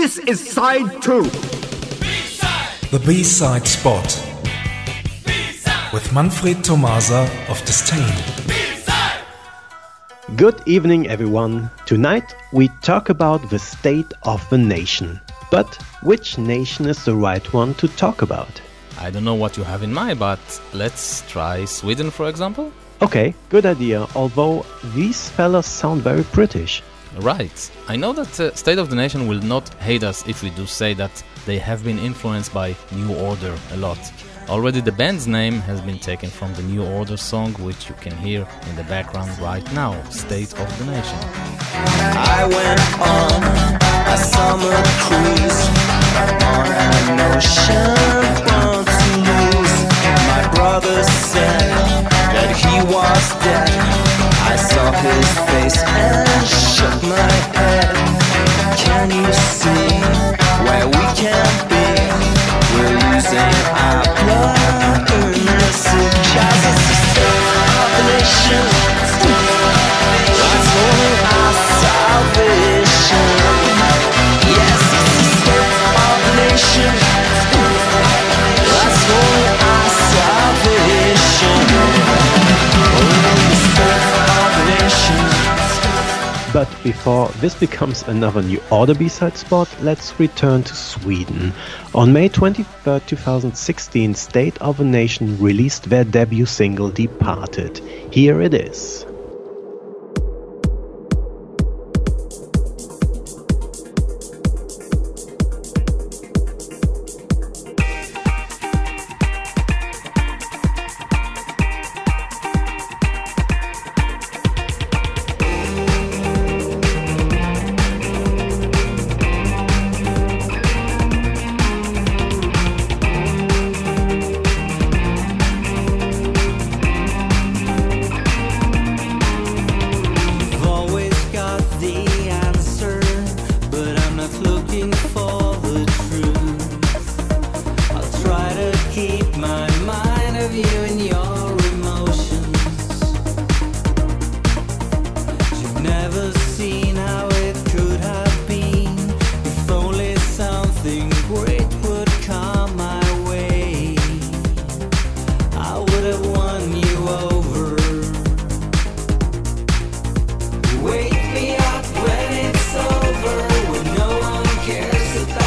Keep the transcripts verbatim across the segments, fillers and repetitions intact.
This is side two. B-side. The B-side spot. B-side. With Manfred Tomasa of Disdain. B-side. Good evening, everyone. Tonight we talk about the state of the nation. But which nation is the right one to talk about? I don't know what you have in mind, but let's try Sweden, for example. Okay, good idea, although these fellas sound very British. Right. I know that uh, State of the Nation will not hate us if we do say that they have been influenced by New Order a lot. Already the band's name has been taken from the New Order song, which you can hear in the background right now, State of the Nation. I went on a summer cruise on an ocean bound to lose. My brother said that he was dead. I saw his face and shook my head. Can you see where we can be? We're losing our blood in the city. Cause it's the state of the nation. That's only our salvation. Yes, it's the state of the nation. That's only our salvation. Oh, the state. But before this becomes another New Order B-side spot, let's return to Sweden. On May twenty-third, twenty sixteen, State of a Nation released their debut single Departed. Here it is. Wake me up when it's over, when no one cares about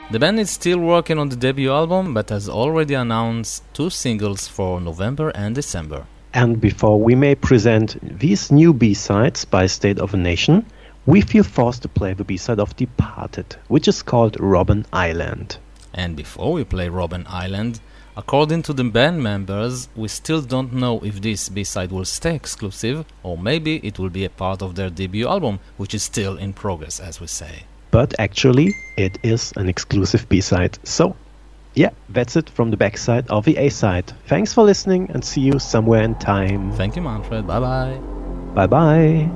The band is still working on the debut album, but has already announced two singles for November and December. And before we may present these new B-sides by State of a Nation, we feel forced to play the B-side of Departed, which is called Robben Island. And before we play Robben Island, according to the band members, we still don't know if this B-side will stay exclusive, or maybe it will be a part of their debut album, which is still in progress, as we say. But actually, it is an exclusive B-side. So, yeah, that's it from the backside of the A-side. Thanks for listening and see you somewhere in time. Thank you, Manfred. Bye-bye. Bye-bye.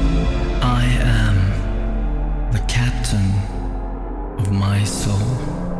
of my soul.